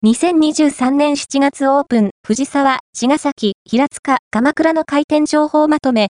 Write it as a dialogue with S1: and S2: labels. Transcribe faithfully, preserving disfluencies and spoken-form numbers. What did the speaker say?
S1: にせんにじゅうさんねんしちがつオープン、藤沢、茅ヶ崎、平塚、鎌倉の開店情報まとめ、